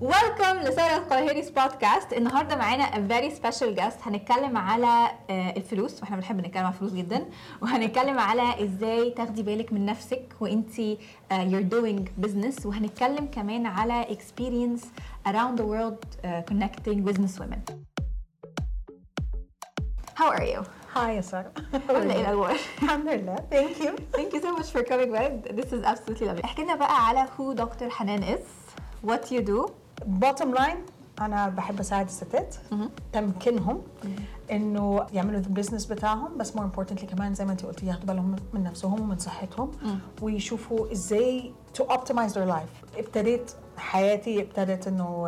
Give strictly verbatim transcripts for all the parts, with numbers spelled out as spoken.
ويلكم لسارة القاهري's بودكاست. النهارده معانا a very special guest. هنتكلم على الفلوس، واحنا بنحب نتكلم على الفلوس جدا، وهنتكلم على ازاي تاخدي بالك من نفسك وانتي uh, you're doing business، وهنتكلم كمان على experience around the world uh, connecting business women. How are you? Hi يا سارة. عاملة ايه الأخبار؟ الحمد لله. Thank you. Thank you so much for coming back. This is absolutely lovely. احكي لنا بقى على who دكتور حنان is, what you do. Bottom line أنا بحب أساعد الستات تمكنهم إنه يعملوا البيزنس بتاعهم، بس more importantly كمان زي ما أنتي قلتي ياخدوا بالهم من نفسهم ومن صحتهم ويشوفوا إزاي to optimize their life. ابتديت حياتي ابتدت إنه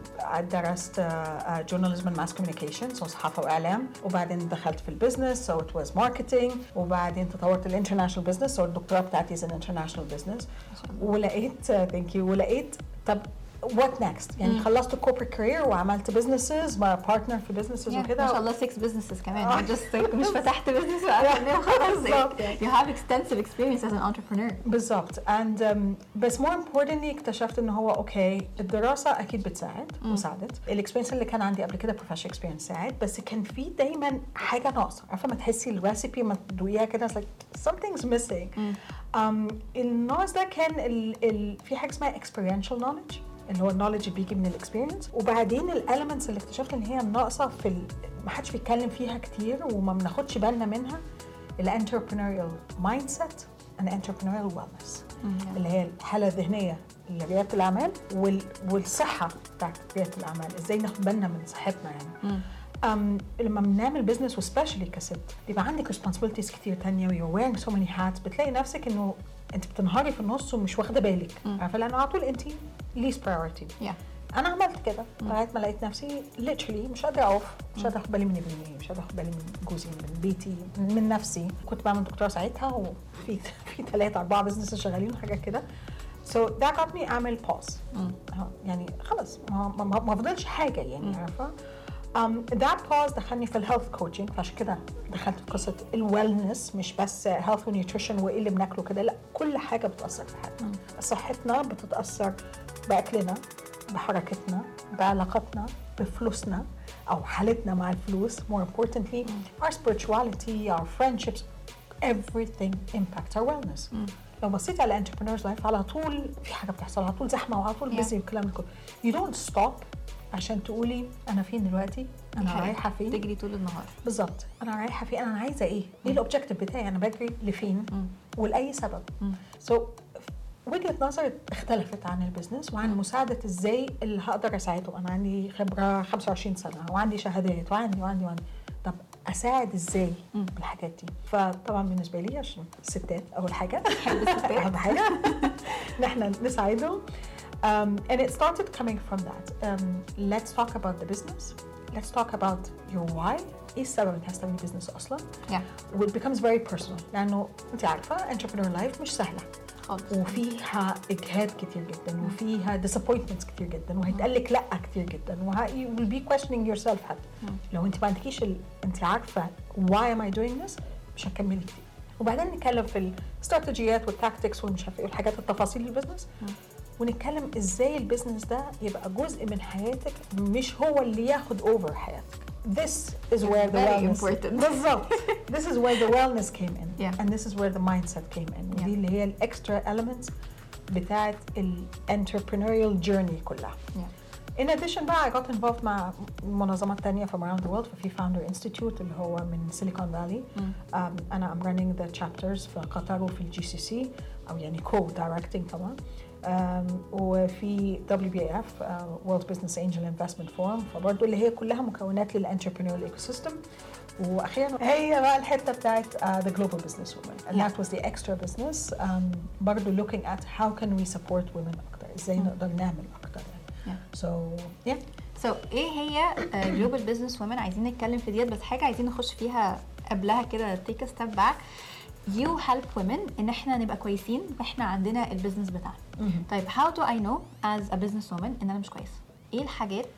درست journalism and mass communication، so صحافة وإعلام، وبعدين دخلت في البيزنس so it was marketing، وبعدين تطورت الانترناشنال بيزنس، so الدكتوراه بتاعتي is an international business. ولقيت thank you ولقيت طب what next؟ يعني خلصت corporate career وعملت businesses مع partner في businesses yeah, وكده. ما شاء الله six businesses كمان. just like مش فتحت business وقفلناه خلاص. You have extensive experience as an entrepreneur. بالضبط. and um, بس more importantly اكتشفت إنه هو أوكي الدراسة أكيد بتساعد وساعدت. الإكسبيرينس اللي كان عندي قبل كده professional experience ساعد، بس كان في دايما حاجة ناقصة. عارفة ما تحسي الريسيبي ما تدوقيها كده like something's missing. um, الناقص ده كان ال, ال, في حاجة اسمها experiential knowledge اللي هو النوليدج بيجي من الاكسبيرينس، وبعدين الاليمنتس اللي اكتشفت ان هي ناقصه في ال... ما حدش بيتكلم فيها كتير وما بناخدش بالنا منها، الانتربرينوريال مايند سيت and entrepreneurial wellness اللي هي الحاله الذهنيه لرياده الاعمال وال... والصحه بتاعت رياده الاعمال، ازاي ناخد بالنا من صحتنا يعني. Um, لما بنعمل بزنس وسبيشالي كست بيبقى عندك responsibilities كتير تانية و you're wearing so many hats، بتلاقي نفسك انه انت بتنهاري في النص ومش واخده بالك، عارفه لانه على طول انت least priority. yeah. انا عملت كده لغايه ما لقيت نفسي literally مش قادره اقف، مش قادره اخد بالي من ابني، مش قادره اخد بالي من جوزي، من بيتي، من نفسي. كنت بعمل دكتوراه ساعتها وفي في ثلاثه اربعه بزنس شغالين وحاجات كده. so that got me اعمل pause. يعني خلاص ما ما, ما فضلش حاجه يعني عارفه. Um, that pause دخلني في الهيلث كوتشنج، فعشان كده دخلت في قصه الويلنس، مش بس هيلث ونيوتريشن وايه اللي بناكله كده، لا كل حاجه بتاثر في حياتنا. صحتنا بتتاثر باكلنا، بحركتنا، بعلاقتنا، بفلوسنا او حالتنا مع الفلوس. more importantly our spirituality, our friendships, everything impacts our wellness. لو بصيتي على entrepreneurs life على طول في حاجه بتحصل، على طول زحمه وعلى طول بيزي والكلام ده كله. you don't stop عشان تقولي انا فين دلوقتي، انا رايحه فين، تجري طول النهار. بالظبط انا رايحه فين، انا عايزه ايه، ايه الاوبجكتيف بتاعي، انا بجري لفين ولاي سبب. سو so, وجهه نظري اختلفت عن البيزنس وعن مساعده ازاي اللي هقدر اساعده. انا عندي خبره خمسة وعشرين سنه وعندي شهادات وعندي وعندي وعندي طب اساعد ازاي بالحاجات دي؟ فطبعا بالنسبه لي عشان الستات اول حاجه اهم حاجه نحن نساعدهم. Um, and it started coming from that. Um, let's talk about the business. Let's talk about your why. إيه السبب إنك عايز تعملي business أصلاً؟ Yeah. It becomes very personal. لأنه أنت عارفة entrepreneur life مش سهلة. خالص. وفيها إجهاد كتير جداً، وفيها disappointments كتير جداً، وهيتقالك لأ كتير جداً، وه you will be questioning yourself حتى. لو أنت ما عندكيش ال... أنت عارفة why am I doing this مش هتكملي كتير. وبعدين نتكلم في الاستراتيجيات والتاكتكس والمش عارفة إيه والحاجات التفاصيل البزنس. ونتكلم ازاي البيزنس ده يبقى جزء من حياتك مش هو اللي ياخد اوفر حياتك. This is where the wellness بالظبط. This is where the wellness came in. Yeah. And this is where the mindset came in. ودي اللي هي الاكسترا elements بتاعت الانتربرينوريال جيرني كلها. Yeah. In addition بقى I got involved مع منظمات تانية from around the world. ففي Founder Institute اللي هو من Silicon Valley. Mm. Um, أنا I'm running the chapters في قطر وفي الجي سي سي أو يعني co-directing طبعا. Um, وفي دبليو بي إيه إف uh, World Business Angel Investment Forum، فبرضه اللي هي كلها مكونات للانتربرينوريال ايكوسيستم. واخيرا هي بقى الحته بتاعت uh, the global business women and yeah. that was the extra business. um, برضه looking at how can we support women اكتر، ازاي mm. نقدر نعمل اكتر يعني. yeah. so yeah so ايه هي uh, global business women؟ عايزين نتكلم في ديت، بس حاجه عايزين نخش فيها قبلها كده take a step back. you help women ان احنا نبقى كويسين واحنا عندنا البيزنس بتاعنا. طيب how do I know as a business woman ان انا مش كويسه؟ ايه الحاجات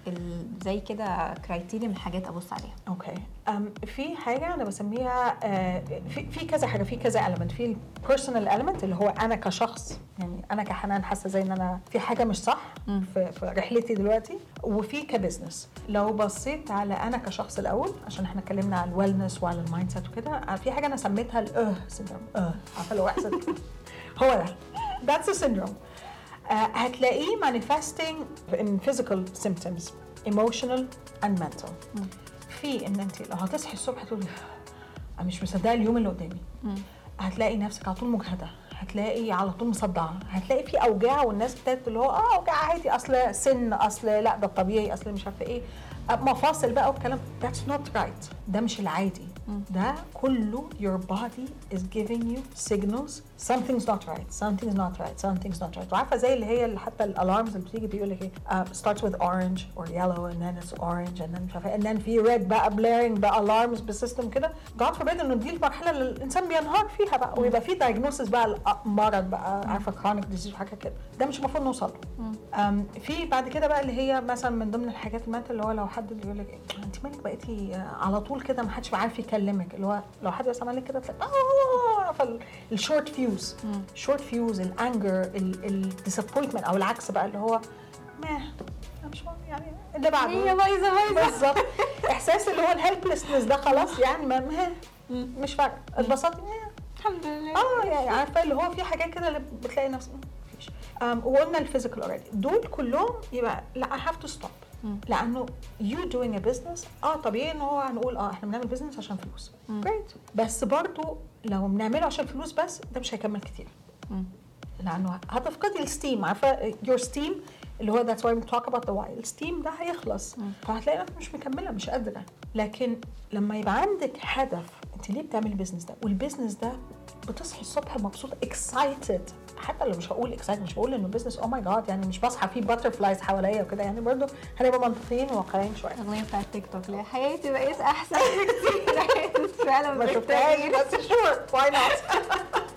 ال- زي كده كرايتيريا من حاجات ابص عليها. اوكي أم في حاجه انا بسميها آه، في في كذا حاجه، في كذا element. في البيرسونال element اللي هو انا كشخص، يعني انا كحنان حاسه زي ان انا في حاجه مش صح في, في رحلتي دلوقتي. وفي كبزنس. لو بصيت على انا كشخص الاول، عشان احنا اتكلمنا على الويلنس وعلى المايند سيت وكده، في حاجه انا سميتها الاه سيندروم. اه عارفه لو احسن هو ده that's a syndrome. uh, هتلاقيه manifesting in physical symptoms, emotional and mental. مم. في ان انت لو هتصحي الصبح تقولي انا مش مصدقه اليوم اللي قدامي، مم. هتلاقي نفسك على طول مجهده، هتلاقي على طول مصدعه، هتلاقي في اوجاع، والناس ابتدت اللي هو اه اوجاع عادي، اصل سن، اصل لا ده الطبيعي، اصل مش عارفه ايه، مفاصل بقى والكلام. that's not right. ده مش العادي. ده كله your body is giving you signals something's not right, something's not right, something's not right. وعارفه زي اللي هي اللي حتى الالارمز اللي بتيجي بيقول لك ايه uh, starts with orange or yellow and then it's orange and then مش عارفه and then في red بقى blaring بقى alarms بسيستم كده. God forbid انه دي المرحله اللي الانسان بينهار فيها بقى ويبقى في diagnosis بقى مرض بقى، عارفه chronic disease وحاجه كده. ده مش المفروض نوصل له. um, في بعد كده بقى اللي هي مثلا من ضمن الحاجات المات اللي هو لو حد اللي يقول لك إيه انت مالك بقيتي على طول كده ما حدش عارف يكلمك، اللي هو لو حد بس عمل لك كده تلاقي اه فالشورت فيوز شورت فيوز الانجر الديسابوينتمنت، او العكس بقى اللي هو ما مش مهم يعني اللي بعده هي بايظه بايظه بالظبط. احساس اللي هو الهيلبلسنس ده خلاص يعني ما ما- مش فارقه، اتبسطتي الحمد لله. اه يعني عارفه اللي هو في حاجات كده اللي بتلاقي نفسك مفيش. um, وقلنا الفيزيكال اوريدي دول كلهم يبقى لا I have to stop. لانه you doing a business اه طبيعي ان هو هنقول اه احنا بنعمل بيزنس عشان فلوس great، بس برضو لو بنعمله عشان فلوس بس ده مش هيكمل كتير. مم. لانه هتفقدي الستيم، عارفه your steam اللي هو that's why we talk about the why. الستيم ده هيخلص فهتلاقي نفسك مش مكمله مش قادره. لكن لما يبقى عندك هدف انت ليه بتعملي البيزنس ده، والبيزنس ده بتصحي الصبح مبسوطه excited، حتى لو مش هقول excited مش بقول انه بيزنس او ماي جاد يعني مش بصحى فيه باترفلايز حواليا وكده، يعني برضو هنبقى منطقيين وواقعيين شويه. الاغنيه بتاعت تيك توك لا حياتي بقيت احسن بكتير. حياتي فعلا ما بقيت شفتهاش تغيير. بس شور واي نوت.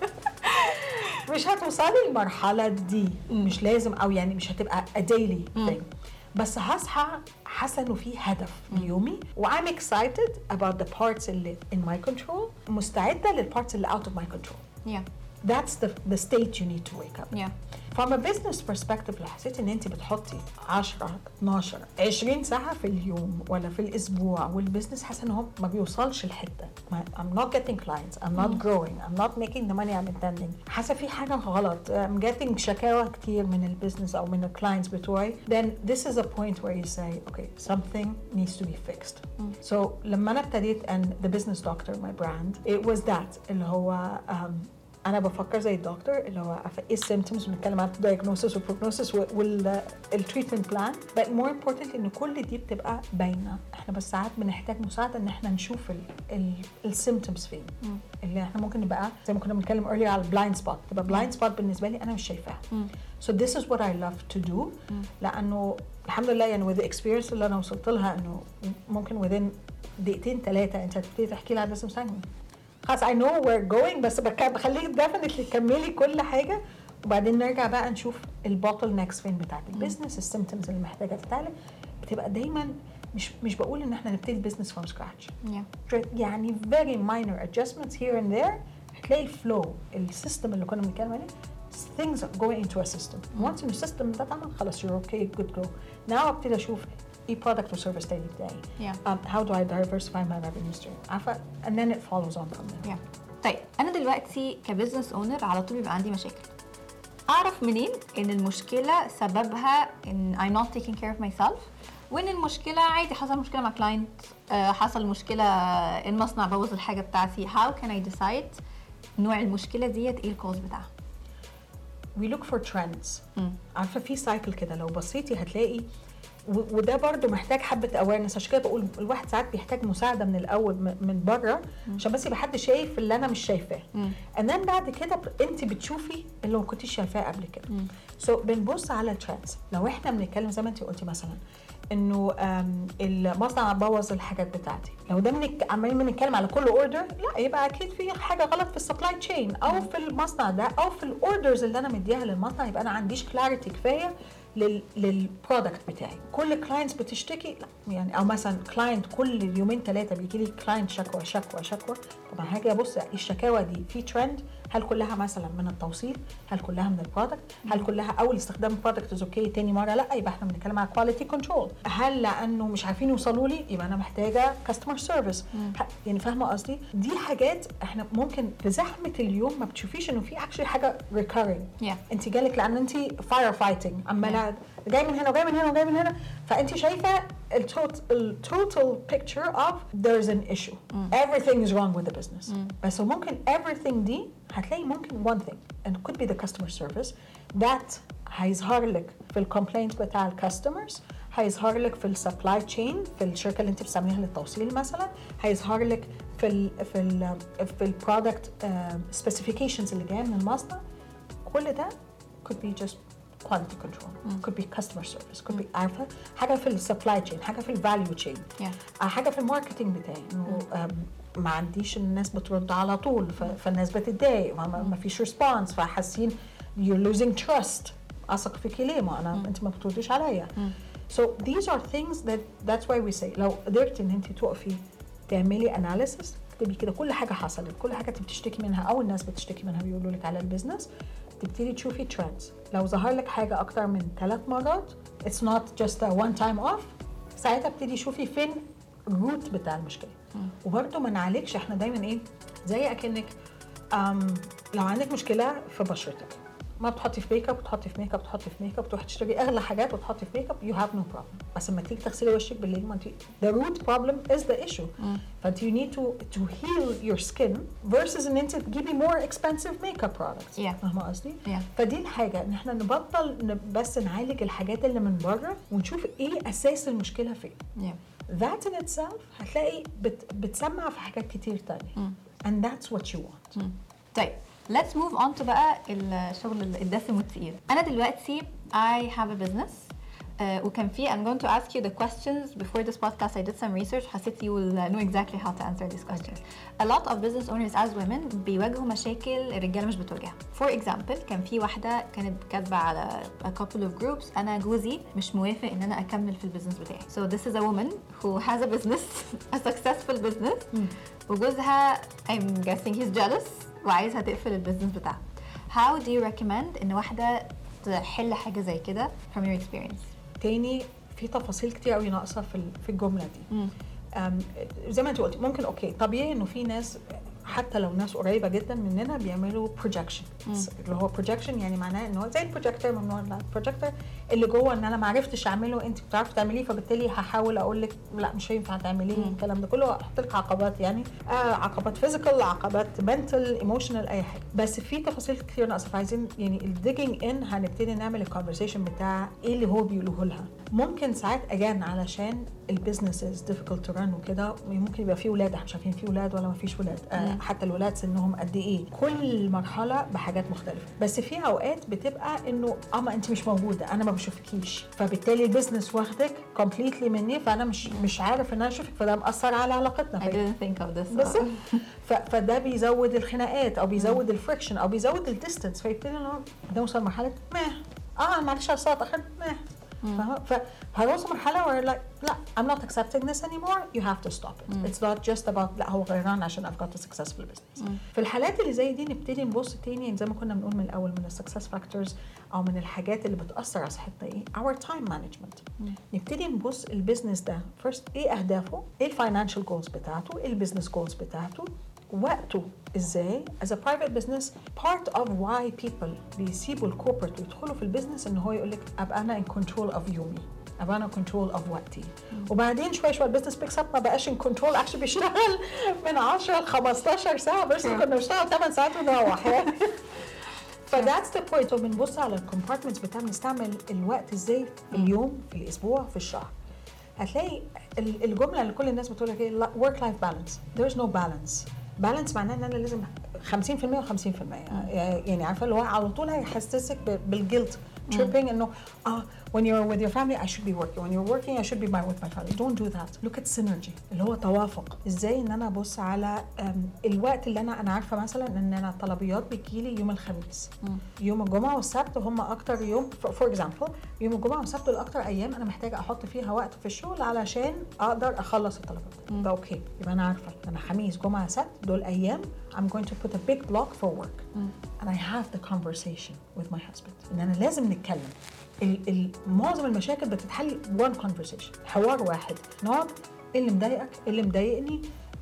مش هتوصلي المرحله دي، مش لازم، او يعني مش هتبقى a daily thing، بس هصحى حاسه انه في هدف ليومي و I'm excited about the parts اللي in my control، مستعده للparts اللي out of my control. yeah That's the the state you need to wake up. yeah From a business perspective لو حسيتي ان انت بتحطي عشرة اتناشر عشرين ساعه في اليوم ولا في الاسبوع والبزنس حاسه ان هو ما بيوصلش لحته، I'm not getting clients, I'm not growing, I'm not making the money I'm intending، حاسه في حاجه غلط، I'm getting شكاوى كتير من البزنس او من الكلاينتس بتوعي، then this is a point where you say okay something needs to be fixed. So لما انا ابتديت and the business doctor my brand it was that اللي هو um, انا بفكر زي الدكتور اللي هو عارفه ايه السيمبتومز، بنتكلم عن الدايجنوستس والبروجنوستس والتريتمنت بلان، but more important ان كل دي بتبقى باينه. احنا بس ساعات بنحتاج مساعده ان احنا نشوف السيمبتومز فين، اللي احنا ممكن نبقى زي ما كنا بنتكلم earlier على البلايند سبوت، تبقى بلايند سبوت بالنسبه لي انا مش شايفاها. so this is what I love to do. لانه الحمد لله يعني with the experience اللي انا وصلت لها انه ممكن within دقيقتين ثلاثه انت هتبتدي تحكي لي على business segment. خلاص I know we're going، بس بخليك definitely تكملي كل حاجة وبعدين نرجع بقى نشوف البوتل نيكس فين بتاعت البيزنس، السيمبتومز اللي محتاجة تتعالج. بتبقى دايما مش مش بقول ان احنا نبتدي البيزنس from scratch. yeah يعني very minor adjustments here and there هتلاقي الفلو السيستم اللي كنا بنتكلم عليه things are going into a system. once in the system ده اتعمل خلاص you're okay good go. now ابتدي اشوف ايه product or service تاني بتاعي. yeah um, how do I diversify my revenue stream عارفة and then it follows on from there. yeah طيب انا دلوقتي كبزنس اونر على طول بيبقى عندي مشاكل، اعرف منين ان المشكله سببها ان I'm not taking care of myself، وان المشكله عادي حصل مشكله مع كلاينت، حصل مشكله المصنع بوظ الحاجه بتاعتي، how can I decide نوع المشكله ديت ايه الكوز بتاعها؟ we look for trends. مم. عارفه في سايكل كده لو بصيتي هتلاقي و- وده برضو محتاج حبه اويرنس، عشان كده بقول الواحد ساعات بيحتاج مساعده من الاول م- من بره عشان بس يبقى حد شايف اللي انا مش شايفاه، انما بعد كده ب- انت بتشوفي اللي ما كنتيش شايفاه قبل كده. سو so, بنبص على الترندز. لو احنا بنتكلم زي ما انت قلتي مثلا انه آم، المصنع بوظ الحاجات بتاعتي، لو ده بنك- عمالين بنتكلم على كل اوردر، لا يبقى اكيد في حاجه غلط في السبلاي تشين او في المصنع ده او في الاوردرز اللي انا مديها للمصنع، يبقى انا عنديش كلاريتي كفايه لل للبرودكت بتاعي. كل كلاينتس بتشتكي لا يعني، او مثلا كلاينت كل يومين ثلاثه بيجي لي كلاينت شكوى شكوى شكوى، طبعا هاجي ابص الشكاوى دي في ترند، هل كلها مثلا من التوصيل؟ هل كلها من البرودكت؟ هل كلها اول استخدام البرودكت از اوكي تاني مره لا، يبقى احنا بنتكلم على كواليتي كنترول. هل لانه مش عارفين يوصلوا لي يبقى انا محتاجه كاستمر سيرفيس؟ يعني فاهمه قصدي؟ دي حاجات احنا ممكن في زحمه اليوم ما بتشوفيش انه في اكشلي حاجه ريكارينج. yeah. انت جالك لان انت فاير فايتنج عماله yeah. جاي من هنا وجاي من هنا وجاي من هنا، فانت شايفه التوتال picture of there's an issue. mm. everything is wrong with the business. mm. بس ممكن everything دي هتلاقي ممكن one thing and it could be the customer service that هيظهر لك في الكومبلينت بتاع الكاستمرز، هيظهر لك في السبلاي تشين في الشركه اللي انت بتستعمليها للتوصيل مثلا، هيظهر لك في ال في ال في البرودكت سبيسيفيكيشنز اللي جايه من المصنع. كل ده could be just quality control. mm. could be customer service. could mm. be عارفه حاجه في السبلاي تشين، حاجه في الفاليو تشين، yeah. حاجه في الماركتنج بتاعي انه ما عنديش الناس بترد على طول فالناس بتتضايق، ما فيش ريسبونس فحاسين you're losing trust. اثق فيكي ليه؟ ما انا mm. انت ما بترديش عليا. mm. So these are things that that's why we say لو قدرتي ان انت تقفي تعملي analysis، تكتبي كده كل حاجه حصلت، كل حاجه انت بتشتكي منها او الناس بتشتكي منها بيقولوا لك على البيزنس، تبتدي تشوفي ترندز. لو ظهر لك حاجه اكتر من ثلاث مرات it's not just a one time off، ساعتها ابتدي شوفي فين الروت بتاع المشكله. mm. وبرده ما نعالجش، احنا دايما ايه زي اكنك لو عندك مشكله في بشرتك ما بتحطي في ميك اب، بتحطي في ميك اب، بتحطي في ميك اب، تروحي تشتري اغلى حاجات وتحطي في ميك اب، you have no problem. بس لما تيجي تغسلي وشك بالليل ما انت the root problem is the issue. mm. فانت you need to to heal your skin versus ان انت تجيبي more expensive makeup products. yeah. فاهمه قصدي؟ yeah. فدي الحاجه ان احنا نبطل بس نعالج الحاجات اللي من بره ونشوف ايه اساس المشكله فين. yeah. that in itself هتلاقي بت بتسمع في حاجات كتير تانية. mm. and that's what you want. mm. طيب let's move on to بقى الشغل الدسم والتقيل. أنا دلوقتي I have a business uh, وكان في I'm going to ask you the questions before this podcast. I did some research. حسيت you will know exactly how to answer these questions. A lot of business owners as women بيواجهوا مشاكل الرجالة مش بتواجهها. For example كان في واحدة كانت كاتبة على a couple of groups أنا جوزي مش موافق إن أنا أكمل في البيزنس بتاعي. So this is a woman who has a business a successful business. mm. وجوزها I'm guessing he's jealous وعايزها تقفل البيزنس بتاعها. How do you recommend ان واحده تحل حاجه زي كده from your experience؟ تاني في تفاصيل كتير قوي ناقصه في في الجمله دي. زي ما انت قلتي ممكن اوكي طبيعي انه في ناس حتى لو ناس قريبه جدا مننا بيعملوا بروجكشن. اللي هو بروجكشن يعني معناه انه زي البروجكتور ممنوع البروجكتور اللي جوه ان انا ما عرفتش اعمله انت بتعرفي تعمليه فبالتالي هحاول اقول لك لا مش هينفع تعمليه. الكلام ده كله احط لك عقبات يعني آه عقبات فيزيكال، عقبات منتال، ايموشنال، اي حاجه. بس في تفاصيل كتير ناقصه فعايزين يعني الديجينج ان هنبتدي نعمل الكونفرسيشن بتاع ايه اللي هو بيقوله لها. ممكن ساعات اجان علشان البيزنس از ديفيكولت تو ران وكده ممكن يبقى في ولاد احنا مش عارفين في ولاد ولا ما فيش ولاد. آه حتى الولاد سنهم قد ايه، كل مرحله بحاجات مختلفه. بس في اوقات بتبقى انه اه ما انت مش موجوده انا ما بشوفكيش فبالتالي البيزنس واخدك كومبليتلي مني فانا مش مش عارف ان انا اشوفك فده مأثر على علاقتنا. I didn't think of this. بس فده بيزود الخناقات او بيزود الفريكشن او بيزود الديستنس فيبتدي انه نوصل مرحله ما اه معلش على الصوت اخر ما فاهمه. فهنوصل مرحله where like لا I'm not accepting this anymore you have to stop it. mm. It's not just about لا هو غيران عشان I've got a successful business. mm. في الحالات اللي زي دي نبتدي نبص تاني زي ما كنا بنقول من الاول من السكسس فاكتورز او من الحاجات اللي بتاثر على صحتنا ايه our time management. mm. نبتدي نبص البيزنس ده first ايه اهدافه، ايه الفاينانشال جولز بتاعته، ايه البيزنس جولز بتاعته، وقته ازاي. as a private business part of why people بيسيبوا الكوربريت ويدخلوا في البيزنس ان هو يقول لك ابقى انا in control of يومي، ابقى انا كنترول اوف وقتي. وبعدين شوي شوي البيزنس بيكس اب ما بقاش ان كنترول اكشلي بيشتغل من عشرة ل خمستاشر ساعه بس كنا بنشتغل ثمان ساعات ونروح يعني. فذاتس ذا بوينت. بنبص على الكومبارتمنتس بتاع بنستعمل الوقت ازاي في اليوم في الاسبوع في الشهر. هتلاقي الجمله اللي كل الناس بتقول لك ايه work life balance. there is no balance. بالانس معناه ان انا لازم خمسين بالمية وخمسين بالمية يعني عارفه اللي هو على طول هيحسسك بالجلد tripping انه اه when you're with your family I should be working when you're working I should be with my family. Don't do that. Look at synergy اللي هو توافق. ازاي ان انا ابص على الوقت اللي انا انا عارفه مثلا ان انا الطلبيات بتجيلي يوم الخميس. مم. يوم الجمعه والسبت هم اكتر يوم فور اكزامبل يوم الجمعه والسبت دول اكتر ايام انا محتاجه احط فيها وقت في الشغل علشان اقدر اخلص الطلبات. ده اوكي يبقى انا عارفه انا خميس جمعه سبت دول ايام I'm going to put a big block for work. مم. and I have the conversation with my husband. ان انا لازم نتكلم. ال ال معظم المشاكل بتتحل one conversation حوار واحد. نقعد ايه اللي مضايقك ايه اللي مضايقني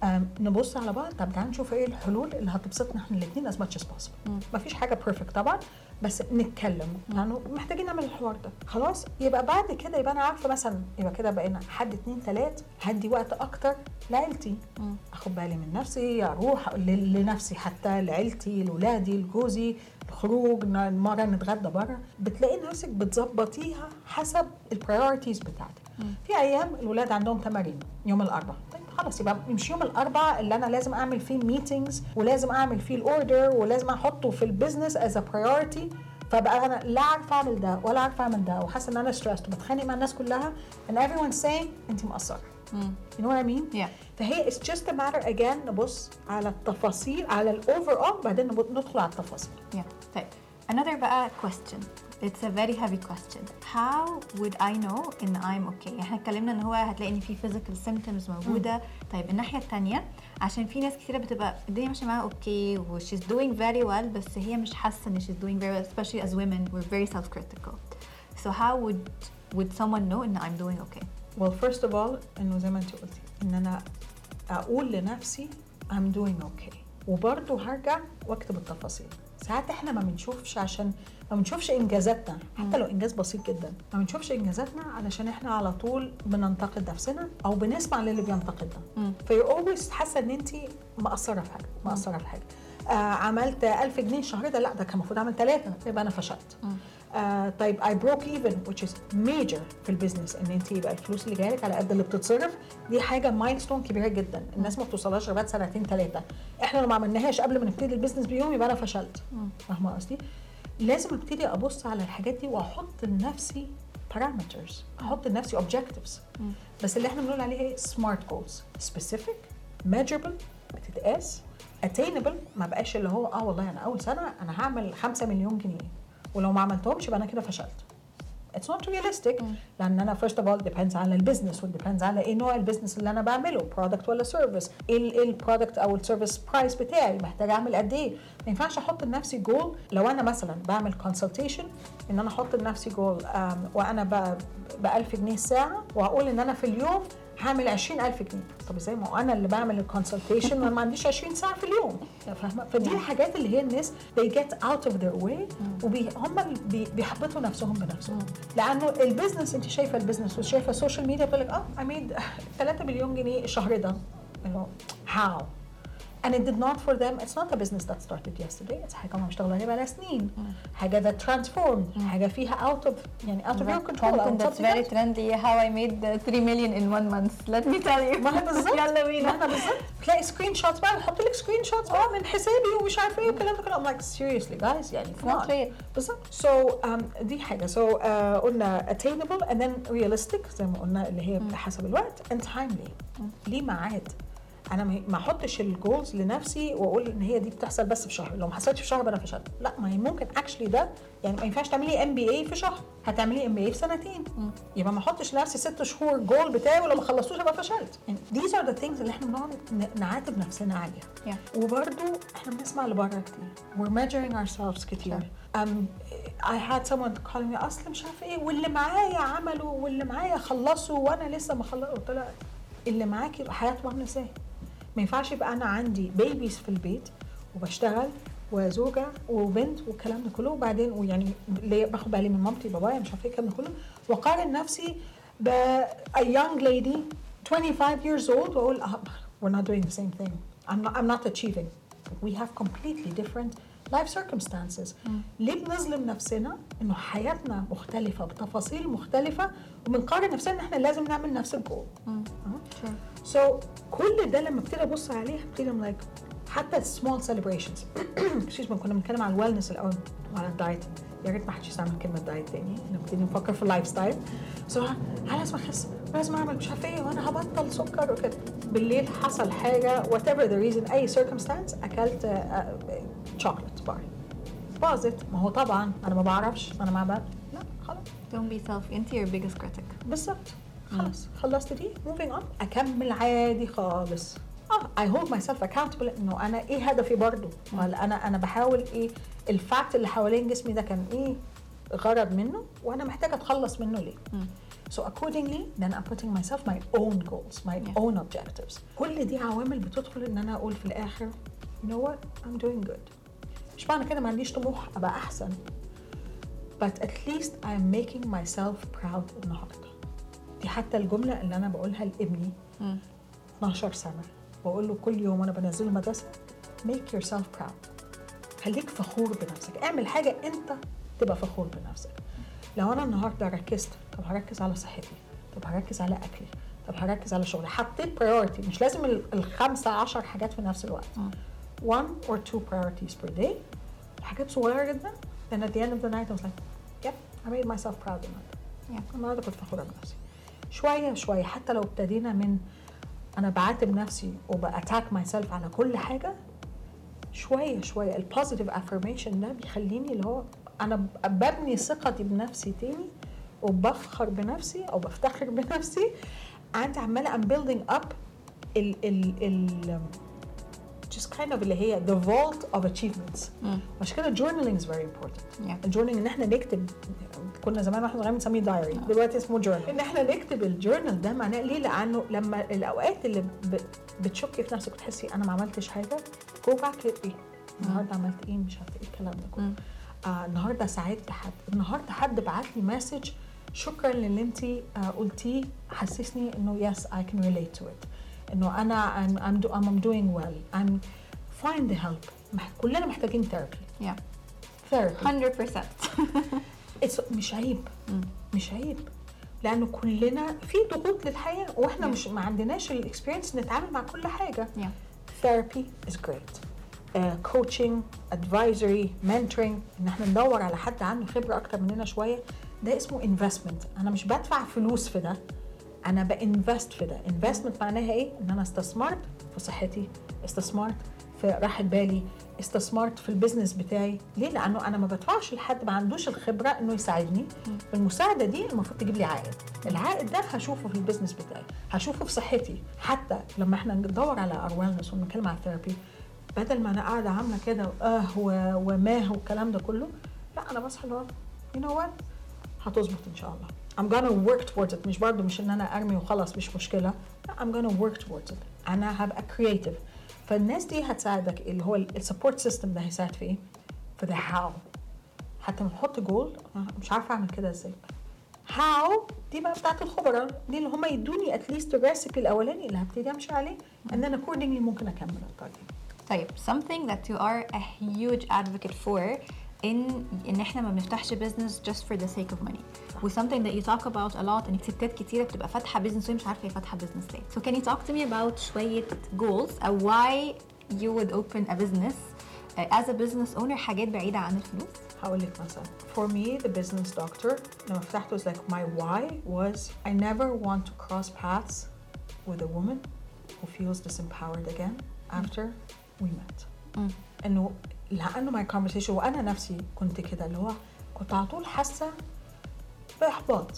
نبص على بعض. طب تعالى نشوف ايه الحلول اللي هتبسطنا احنا الاثنين as much as possible. مفيش حاجه بيرفكت طبعا بس نتكلم لانه يعني محتاجين نعمل الحوار ده. خلاص يبقى بعد كده يبقى انا عارفه مثلا يبقى كده بقينا حد اتنين تلات هدي وقت اكتر لعيلتي. مم. اخد بالي من نفسي اروح لنفسي حتى لعيلتي لاولادي لجوزي خروج مره نتغدى بره. بتلاقي نفسك بتظبطيها حسب البرايورتيز بتاعتك. مم. في ايام الولاد عندهم تمارين يوم الاربعاء خلاص يبقى مش يوم الاربعاء اللي انا لازم اعمل فيه ميتينجز ولازم اعمل فيه الاوردر ولازم احطه في البيزنس از ا برايورتي. فبقى انا لا عارفه اعمل ده ولا عارفه اعمل ده وحاسه ان انا ستريسد وبتخانق مع الناس كلها and everyone saying انت مقصره. you know what I mean؟ yeah. فهي it's just a matter again نبص على التفاصيل على الاوفر اول بعدين ندخل على التفاصيل. yeah. طيب another بقى question. It's a very heavy question. How would I know in I'm okay؟ احنا اتكلمنا ان هو هتلاقي ان في physical symptoms موجوده. mm. طيب الناحيه الثانيه عشان في ناس كتيره بتبقى الدنيا ماشيه معاها اوكي و she's doing very well بس هي مش حاسه ان she's doing very well especially as women we're very self-critical. So how would would someone know ان I'm doing okay؟ Well first of all انه زي ما انت قلتي ان انا اقول لنفسي I'm doing okay وبرضه هرجع واكتب التفاصيل. ساعات احنا ما بنشوفش عشان ما بنشوفش انجازاتنا حتى لو انجاز بسيط جدا ما بنشوفش انجازاتنا علشان احنا على طول بننتقد نفسنا او بنسمع للي بينتقدنا. فيو اولويز حاسه ان انت مقصره في حاجه مقصره في حاجه. آه عملت ألف جنيه الشهر ده لا ده كان المفروض اعمل ثلاثة يبقى انا فشلت. آه طيب I broke even which is major في البيزنس ان انت يبقى الفلوس اللي جايلك على قد اللي بتتصرف دي حاجه مايلستون كبيره جدا الناس ما بتوصلهاش غير بعد سنتين ثلاثه. احنا لو ما عملناهاش قبل ما نبتدي البيزنس بيوم يبقى انا فشلت. فاهمه قصدي؟ لازم ابتدي ابص على الحاجات دي واحط لنفسي parameters احط لنفسي objectives. بس اللي احنا بنقول عليه ايه smart goals specific measurable بتتقاس attainable ما بقاش اللي هو اه والله انا اول سنه انا هعمل خمسة مليون جنيه ولو ما عملتهمش يبقى انا كده فشلت. It's not realistic. mm. لان انا first of all depends على البيزنس و depends على ايه نوع البيزنس اللي انا بعمله product ولا service ايه البرودكت او السيرفيس برايس بتاعي محتاج اعمل قد ايه. ما ينفعش احط لنفسي جول لو انا مثلا بعمل consultation ان انا احط لنفسي جول وانا ب ألف جنيه الساعه واقول ان انا في اليوم هعمل عشرين ألف جنيه. طب ازاي ما انا اللي بعمل الكونسلتيشن وانا ما عنديش عشرين ساعه في اليوم. فاهمه؟ فدي الحاجات اللي هي الناس they get out of their way وهم اللي بيحبطوا نفسهم بنفسهم. لانه البيزنس انت شايفه البيزنس وشايفه السوشيال ميديا بتقول لك اه I made ثلاثة مليون جنيه الشهر ده. how and it did not for them. It's not a business that started yesterday. It's حاجة ما بيشتغلوا عليها بقالها سنين. حاجة that transformed. حاجة فيها out of يعني out of your control. Content that's very trendy. How I made three million in one month. Let me tell you. ما هي بالظبط. يلا بينا. ما هي بالظبط. تلاقي سكرين شوتس بقى نحط لك سكرين شوتس بقى من حسابي ومش عارفة ايه والكلام ده كله. I'm like seriously guys يعني come on. بالظبط. So um, دي حاجة. So uh, قلنا attainable and then realistic زي ما قلنا اللي هي حسب الوقت and timely. ليه ميعاد. انا ما احطش الجولز لنفسي واقول ان هي دي بتحصل بس في شهر لو ما حصلتش في شهر بقى انا فشلت. لا ما هي ممكن اكشلي ده يعني ما ينفعش تعملي ام بي اي في شهر هتعملي ام بي اي في سنتين. م. يبقى ما احطش لنفسي ست شهور جول بتاعي ولو ما خلصتوش ابقى فشلت. يعني these are the things اللي احنا بنقعد نعاتب نفسنا عليها. yeah. وبرده احنا بنسمع لبره كتير we're measuring ourselves كتير. sure. um, I had someone calling me اصل مش عارفه ايه واللي معايا عملوا واللي معايا خلصوا وانا لسه ما خلصت. قلت لها اللي معاكي حياتهم عامله ازاي؟ ما ينفعش يبقى انا عندي بيبيز في البيت وبشتغل وزوجه وبنت والكلام ده كله وبعدين ويعني باخد بالي من مامتي بابايا مش عارفه ايه الكلام ده كله واقارن نفسي ب a young lady twenty-five years old واقول we're not doing the same thing. I'm not, I'm not achieving. We have completely different life circumstances. mm. ليه بنظلم نفسنا انه حياتنا مختلفه بتفاصيل مختلفه وبنقارن نفسنا ان احنا لازم نعمل نفس الجول. sure. So كل ده لما ابتدي ابص عليه ابتدي I'm like حتى small celebrations excuse me كنا بنتكلم على الويلنس الاول وعلى الدايت يا ريت ما حدش يستعمل كلمه دايت تاني، نبتدي نفكر في اللايف ستايل. سو انا لازم اخس، لازم اعمل مش عارفه ايه، وانا هبطل سكر وكده. بالليل حصل حاجه whatever the reason، اي circumstance، اكلت شوكليت بار، باظت. ما هو طبعا انا ما بعرفش، انا مع بعض لا خلاص. don't be self انت your biggest critic. بالظبط، خلاص خلصت دي moving on، اكمل عادي خالص. اه I hold myself accountable انه انا ايه هدفي برضو، ولا انا انا بحاول ايه الفاكت اللي حوالين جسمي ده كان ايه غرض منه، وانا محتاجه اتخلص منه ليه. So accordingly then I'm putting myself my own goals, my Yeah. own objectives. كل دي عوامل بتدخل ان انا اقول في الاخر you know what I'm doing good. مش معنى كده ما عنديش طموح ابقى احسن، but at least I'm making myself proud النهارده. دي حتى الجمله اللي انا بقولها لابني اتناشر سنه، بقول له كل يوم وانا بنزله المدرسه make yourself proud. خليك فخور بنفسك، اعمل حاجه انت تبقى فخور بنفسك. لو انا النهارده ركزت، طب هركز على صحتي، طب هركز على اكلي، طب هركز على شغلي، حطيت priority، مش لازم الخمسه عشر حاجات في نفس الوقت. one or two priorities per day، حاجات صغيره جدا. then at the end of the night I was like yep I made myself proud النهارده. yeah. النهارده كنت فخوره بنفسي. شويه شويه حتى لو ابتدينا من انا بعاتب نفسي وباتاك ماي سيلف على كل حاجه، شويه شويه البوزيتيف افرميشن ده بيخليني اللي هو انا ببني ثقتي بنفسي تاني، وبفخر بنفسي او بفتخر بنفسي. and عماله I'm building up ال ال ال just kind of اللي هي the vault of achievements. عشان كده journaling is very important. Yeah. الجورنالينج ان احنا نكتب، كنا زمان واحنا صغيرين بنسميه دايري، دلوقتي اسمه جورنال. ان احنا نكتب الجورنال ده معناه ليه؟ لانه لما الاوقات اللي بتشكي في نفسك وتحسي انا ما عملتش حاجه، جو باك ايه النهارده عملت ايه، مش عارفه ايه الكلام ده كله. آه النهارده ساعدت حد، النهارده حد بعت لي مسج شكرا للي انت آه قلتيه، حسسني انه yes I can relate to it، انه انا I'm I'm, do, I'm doing well I'm find the help. مح, كلنا محتاجين therapy. yeah therapy one hundred percent. It's مش عيب مش عيب لانه كلنا في ضغوط للحياه، واحنا yeah. مش ما عندناش الاكسبيرينس نتعامل مع كل حاجه. yeah. therapy is great. uh, coaching, advisory, mentoring، ان احنا ندور على حد عنده خبره اكتر مننا شويه، ده اسمه investment. انا مش بدفع فلوس في ده، انا بانفست في ده. investment معناها ايه؟ ان انا استثمرت في صحتي، استثمرت في راحه بالي، استثمرت في البيزنس بتاعي. ليه؟ لانه انا ما بدفعش لحد ما عندوش الخبره انه يساعدني. المساعده دي المفروض تجيب لي عائد، العائد ده هشوفه في البيزنس بتاعي، هشوفه في صحتي. حتى لما احنا ندور على اور ويلنس ونتكلم على الثيرابي، بدل ما انا قاعده عامله كده اه وماه والكلام ده كله، لا انا بصحى اللي هو you know what هتظبط ان شاء الله. I'm gonna work towards it. مش برضه مش ان انا ارمي وخلاص مش مشكله، لا I'm gonna work towards it. انا هبقى creative. فالناس دي هتساعدك، اللي هو السبورت سيستم ده هيساعد في ايه؟ في the how. حتى لما تحط جول مش عارفه اعمل كده ازاي، how دي بقى بتاعت الخبراء دي اللي هم يدوني اتليست الريسيبي الاولاني اللي هبتدي امشي عليه، ان انا accordingly ممكن اكمل الطريق. طيب something that you are a huge advocate for ان ان احنا ما بنفتحش business just for the sake of money. و something that you talk about a lot ان ستات كتيره بتبقى فاتحه business وهي مش عارفه هي فاتحه business ليه. So can you talk to me about شويه goals او why you would open a business uh, as a business owner حاجات بعيده عن الفلوس؟ هقول لك مثلا for me the business doctor لما فتحته was like my why was I never want to cross paths with a woman who feels disempowered again after we met. م. انه لانه my conversation وانا نفسي كنت كده اللي هو كنت على طول حاسه باحباط،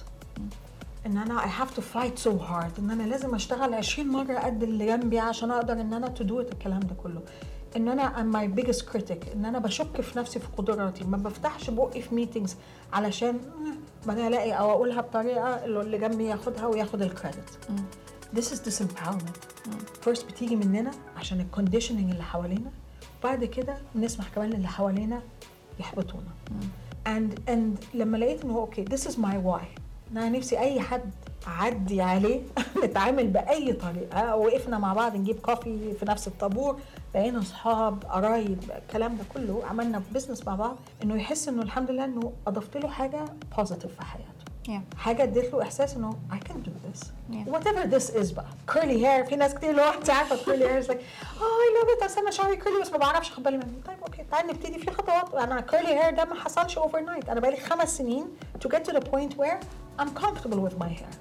ان انا I have to fight so hard، ان انا لازم اشتغل عشرين مره قد اللي جنبي عشان اقدر ان انا to do it الكلام ده كله. ان انا I'm my biggest critic، ان انا بشك في نفسي في قدراتي، ما بفتحش بقي في meetings علشان ما الاقي او اقولها بطريقه اللي جنبي ياخدها وياخد الكريدت. This is disempowerment. first بتيجي مننا عشان الكونديشننج اللي حوالينا، بعد كده نسمح كمان اللي حوالينا يحبطونا. and and لما لقيت انه اوكي this is my why، انا نفسي اي حد عدي عليه نتعامل باي طريقه، وقفنا مع بعض نجيب كوفي في نفس الطابور، بقينا اصحاب قرايب الكلام ده كله، عملنا بزنس مع بعض، انه يحس انه الحمد لله انه اضفت له حاجه بوزيتيف في حياته. yeah. حاجه ادت له احساس انه I can do this. yeah. whatever this is بقى. curly hair، في ناس كتير اللي هو انت عارفه curly hair is like oh I love it، اصل انا شعري curly بس ما بعرفش اخد بالي منه. طيب اوكي تعالي نبتدي في خطوات. انا كيرلي هير ده ما حصلش اوفر نايت، انا بقالي خمس سنين to get to the point where I'm comfortable with my hair.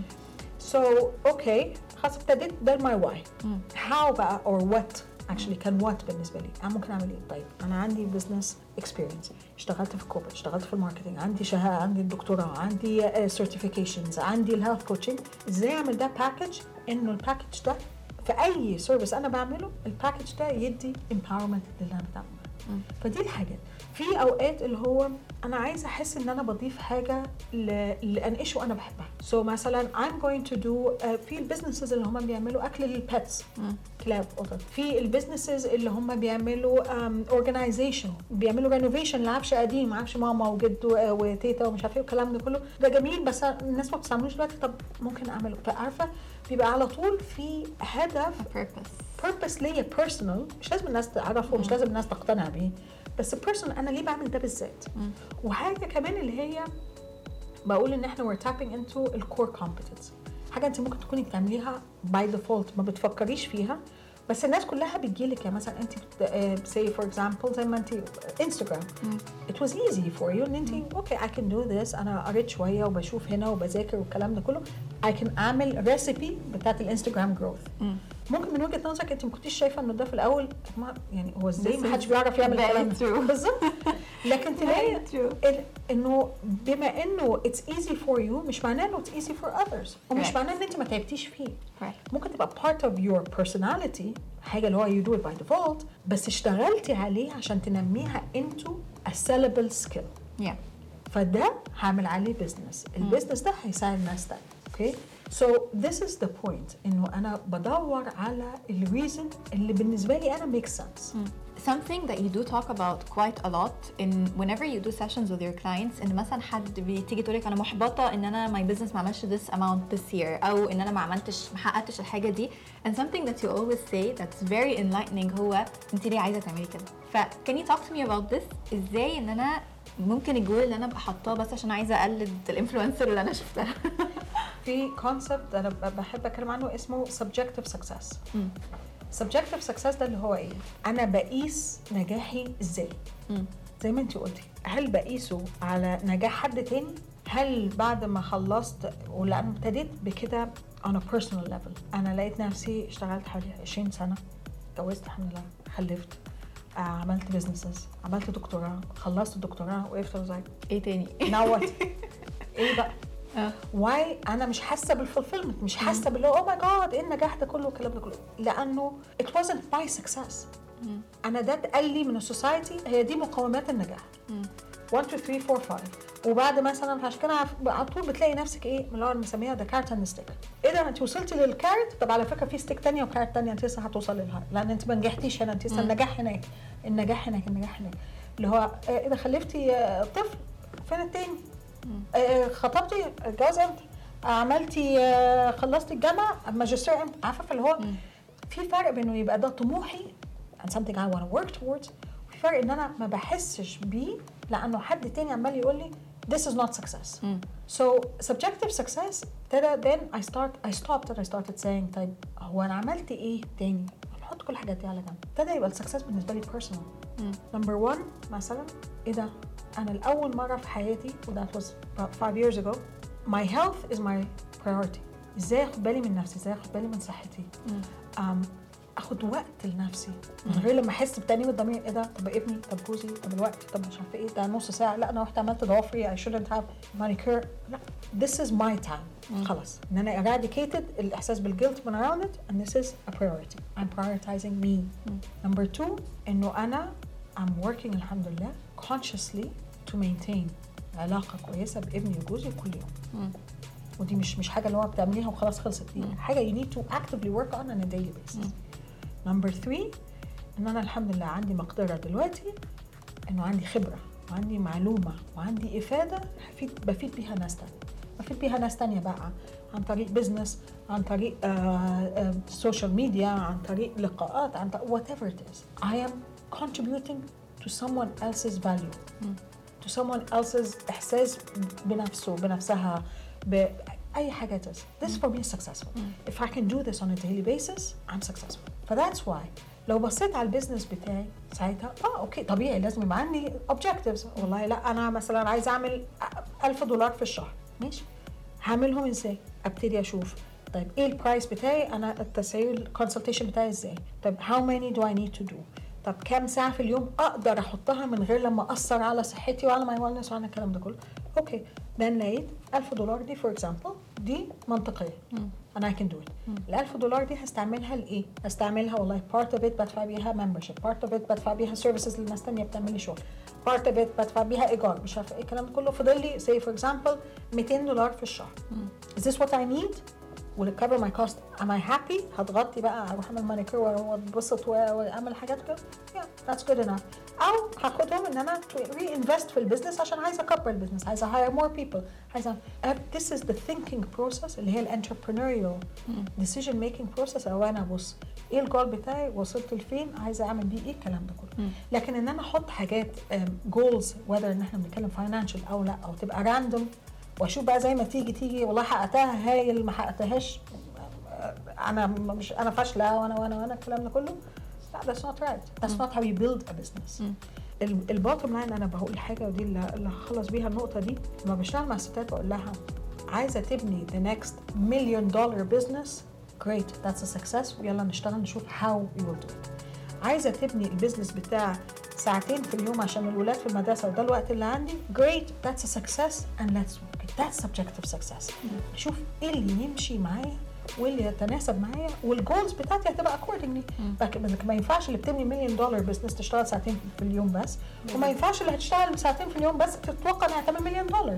So okay خلاص ابتديت ده my why. how بقى or what actually كان what بالنسبه لي انا ممكن اعمل ايه. طيب انا عندي بزنس اكسبيرينس، اشتغلت في الكوربريت، اشتغلت في الماركتنج، عندي شهاده، عندي الدكتوراه، عندي سيرتيفيكيشنز، عندي الهيلث كوتشنج. ازاي اعمل ده باكج انه الباكج ده في اي سيرفيس انا بعمله الباكج ده يدي امباورمنت للي انا بعمله. فدي الحاجات. في اوقات اللي هو انا عايزه احس ان انا بضيف حاجه لانقشه انا بحبها. سو so مثلا I'm going to do uh, في البيزنسز اللي هم بيعملوا اكل للبيتس، كلاب قطط. في البيزنسز اللي هم بيعملوا اورجنايزيشن، بيعملوا رينوفيشن لعفش قديم، عفش ماما وجد وتيتا ومش عارفه ايه الكلام ده كله. ده جميل بس الناس ما بتستعملوش دلوقتي، طب ممكن اعمله. فعارفه بيبقى على طول في هدف purpose purpose ليا personal، مش لازم الناس تعرفه، مش لازم الناس تقتنع بيه، بس personal انا ليه بعمل ده بالذات. وحاجه كمان اللي هي بقول ان احنا we're tapping into الكور competence، حاجه انت ممكن تكوني بتعمليها by default ما بتفكريش فيها، بس الناس كلها بتجيلك. يعني مثلا انت say for example زي ما انت انستغرام it was easy for you ان انت اوكي I can do this، انا قريت شويه وبشوف هنا وبذاكر والكلام ده كله، I can اعمل ريسيبي بتاعت الانستغرام جروث. ممكن من وجهه نظرك انت ما كنتيش شايفه انه ده في الاول ما يعني هو ازاي ما حدش بيعرف يعمل الكلام ده بالظبط، لكن تلاقي انه بما انه it's easy for you مش معناه انه it's easy for others، ومش معناه ان انت ما تعبتيش فيه. ممكن تبقى part of your personality، حاجه اللي هو you do it by default، بس اشتغلتي عليه عشان تنميها into a sellable skill. yeah. فده هعمل عليه بزنس، البزنس ده هيساعد ناس تاني. اوكي so this is the point انه انا بدور على الريزن اللي بالنسبه لي انا make sense. mm. Something that you do talk about quite a lot in whenever you do sessions with your clients ان مثلا حد بتيجي تقولك انا محبطه ان انا my business ما عملش this amount this year، او ان انا ما عملتش ما حققتش الحاجه دي، and something that you always say that's very enlightening هو انت ليه عايزه تعملي كده. ف can you talk to me about this؟ ازاي ان انا ممكن الجول اللي انا ابقى حاطاه بس عشان عايزه اقلد الانفلونسر اللي انا شفتها. في كونسبت انا بحب اتكلم عنه اسمه subjective success. م. subjective success ده اللي هو ايه؟ انا بقيس نجاحي ازاي؟ م. زي ما انت قلتي، هل بقيسه على نجاح حد تاني؟ هل بعد ما خلصت ولأنه ابتديت بكده on a personal level، انا لقيت نفسي اشتغلت حوالي عشرين سنه، اتجوزت الحمد لله، خلفت، آه، عملت بيزنسز، عملت دكتوراه، خلصت الدكتوراه، وقفت وزي ايه تاني؟ نوت ايه بقى؟ واي انا مش حاسه بالفولفيلمنت، مش حاسه باللي اوه ماي جاد ايه النجاح ده كله والكلام ده كله، لانه it wasn't my success. انا ده اتقال لي من السوسايتي هي دي مقومات النجاح واحد اتنين تلاتة أربعة خمسة، وبعد مثلا عشان كده على طول بتلاقي نفسك ايه من اللي هو بنسميها ذا كارت اند ستيك. ايه ده انت وصلتي للكارت، طب على فكره في ستيك ثانيه وكارت ثانيه انت لسه هتوصل لها، لان انت ما نجحتيش هنا، انت لسه النجاح هناك، النجاح هناك، النجاح هناك، اللي هو ايه ده خلفتي طفل فين التاني؟ آه خطبتي الجواز امتى؟ عملتي آه خلصتي الجامعه الماجستير امتى؟ عارفه فاللي هو في فرق بينه يبقى ده طموحي and something I want to work towards، وفي فرق ان انا ما بحسش بيه لانه حد تاني عمال يقول لي this is not success. Mm. So subjective success ابتدى then I start I stopped and I started saying طيب هو انا عملت ايه تاني؟ نحط كل الحاجات دي على جنب. ابتدى يبقى السكسس بالنسبه لي personal. Mm. Number one مثلا ايه ده؟ أنا الأول مرة في حياتي و that was about five years ago my health is my priority. إزاي أخد بالي من نفسي، إزاي أخد بالي من صحتي، um, أخد وقت لنفسي من غير لما أحس بتأنيب الضمير إيه ده، طب ابني، طب جوزي، طب الوقت، طب مش عارفة إيه ده نص ساعة، لا أنا رحت عملت ضوافري I shouldn't have manicure، لا this is my time. خلاص إن أنا eradicated الإحساس بالguilt من around it and this is a priority. I'm prioritizing me. Number two إنه أنا I'm working الحمد لله consciously to maintain علاقة كويسة بابني وجوزي كل يوم. مم. ودي مش مش حاجة اللي هو بتعمليها وخلاص خلصت، دي حاجة you need to actively work on on a daily basis. مم. Number three إن أنا الحمد لله عندي مقدرة دلوقتي إنه عندي خبرة وعندي معلومة وعندي إفادة بفيد بفيد بيها ناس تانية، بفيد بيها ناس تانية بقى عن طريق بزنس، عن طريق سوشيال ميديا، عن طريق لقاءات، عن طريق whatever it is. I am contributing to someone else's value. مم. to someone else's إحساس بنفسه بنفسها بأي حاجة تس. This mm. for me is successful. Mm. If I can do this on a daily basis, I'm successful. But that's why لو بصيت على البيزنس بتاعي ساعتها اه اوكي طبيعي لازم يبقى عندي اوبجكتيفز. والله لا انا مثلا عايز اعمل ألف دولار في الشهر، ماشي هعملهم ازاي؟ ابتدي اشوف طيب ايه البرايس بتاعي، انا التسعير الكونسلتيشن بتاعي ازاي، طيب how many do I need to do، طب كام ساعه في اليوم اقدر احطها من غير لما اثر على صحتي وعلى ماي ويلنس وعلى الكلام ده كله. اوكي then لقيت ألف دولار دي فور اكزامبل دي منطقيه and I can do it. ال ألف دولار دي هستعملها لايه؟ هستعملها والله part of it بدفع بيها membership، part of it بدفع بيها services للناس تانية بتعمل لي شغل، part of it بدفع بيها ايجار مش عارفه ايه الكلام ده كله. فضل لي say for example مئتين دولار في الشهر. is this what I need؟ will it cover my cost؟ am I happy؟ هتغطي بقى اروح اعمل مانيكير واتبسط واعمل حاجات كده؟ yeah that's good enough. او هاخدهم ان انا reinvest في البيزنس عشان عايزه اكبر البيزنس، عايزه hire more people، عايزه this is the thinking process اللي هي ال entrepreneurial decision making process. او انا ابص ايه الجول بتاعي، وصلت لفين، عايزه اعمل بيه ايه الكلام ده كله. لكن ان انا احط حاجات جولز whether ان احنا بنتكلم financial او لا، او تبقى random واشوف بقى زي ما تيجي تيجي والله حققتها هايل ما حققتهاش انا مش انا فاشله وانا وانا وانا الكلام ده كله. لا that's not right. That's not how you build a business. البوتtom لاين انا بقول حاجه ودي اللي, اللي هخلص بيها النقطه دي. لما بشتغل مع الستات بقول لها عايزه تبني the next million dollar business great that's a success ويلا نشتغل نشوف how we will do it. عايزه تبني البيزنس بتاع ساعتين في اليوم عشان الولاد في المدرسه وده الوقت اللي عندي great that's a success and let's work it. that's subjective success. شوف ايه اللي يمشي معايا واللي يتناسب معايا والجولز بتاعتي هتبقى accordingly. ما ينفعش اللي بتبني مليون دولار بزنس تشتغل ساعتين في اليوم بس، وما ينفعش اللي هتشتغل ساعتين في اليوم بس تتوقع انها تعمل مليون دولار.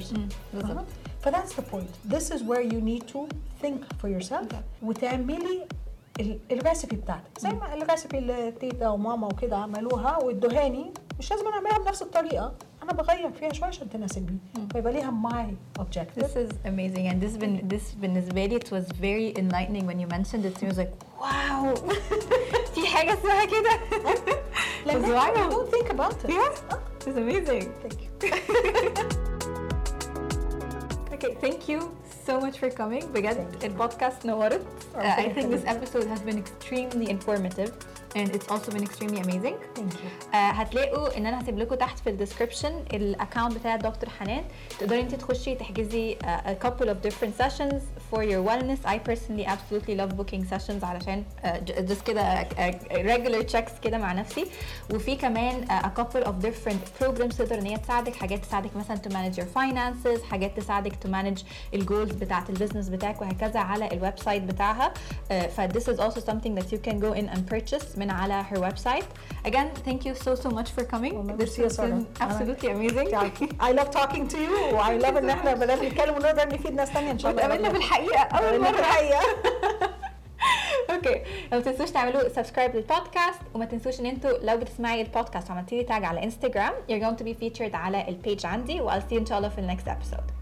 ف that's the point. This is where you need to think for yourself وتعملي الريسيبي بتاعتك زي ما الريسيبي اللي تيتا وماما وكده عملوها وادوهاني، مش لازم اعملها بنفس الطريقه، انا بغير فيها شويه عشان تناسبني فيبقى ليها my objective. This is amazing and this been this بالنسبه لي it was very enlightening when you mentioned it. It was like wow في حاجه اسمها كده. Like don't think about it. Yeah, it's amazing. Thank you. Okay, thank you so much for coming. بجد البودكاست نورت. Uh, I think this episode has been extremely informative and it's also been extremely amazing. Thank you. Uh, هتلاقوا ان انا هسيب لكم تحت في الديسكربشن الاكونت بتاع دكتور حنان، تقدري انت تخشي تحجزي uh, a couple of different sessions for your wellness. I personally absolutely love booking sessions علشان uh, just كده uh, regular checks كده مع نفسي. وفي كمان uh, a couple of different programs تقدر ان هي تساعدك، حاجات تساعدك مثلا to manage your finances، حاجات تساعدك to manage الجولز بتاعت البيزنس بتاعك وهكذا على الويب سايت بتاعها. uh, ف this is also something that you can go in and purchase من على her website. Again, thank you so so much for coming. Well, this has been absolutely amazing. I love talking to you. I love ان احنا بدنا نتكلم ونقدر نفيد ناس تانية ان شاء الله. قابلنا في الحقيقة أول مرة. في الحقيقة. اوكي، ما تنسوش تعملوا سبسكرايب للبودكاست، وما تنسوش ان انتوا لو بتسمعي البودكاست وعملتي لي تاج على انستغرام you're going to be featured على البيج عندي. و I'll see you ان شاء الله في النكست episode.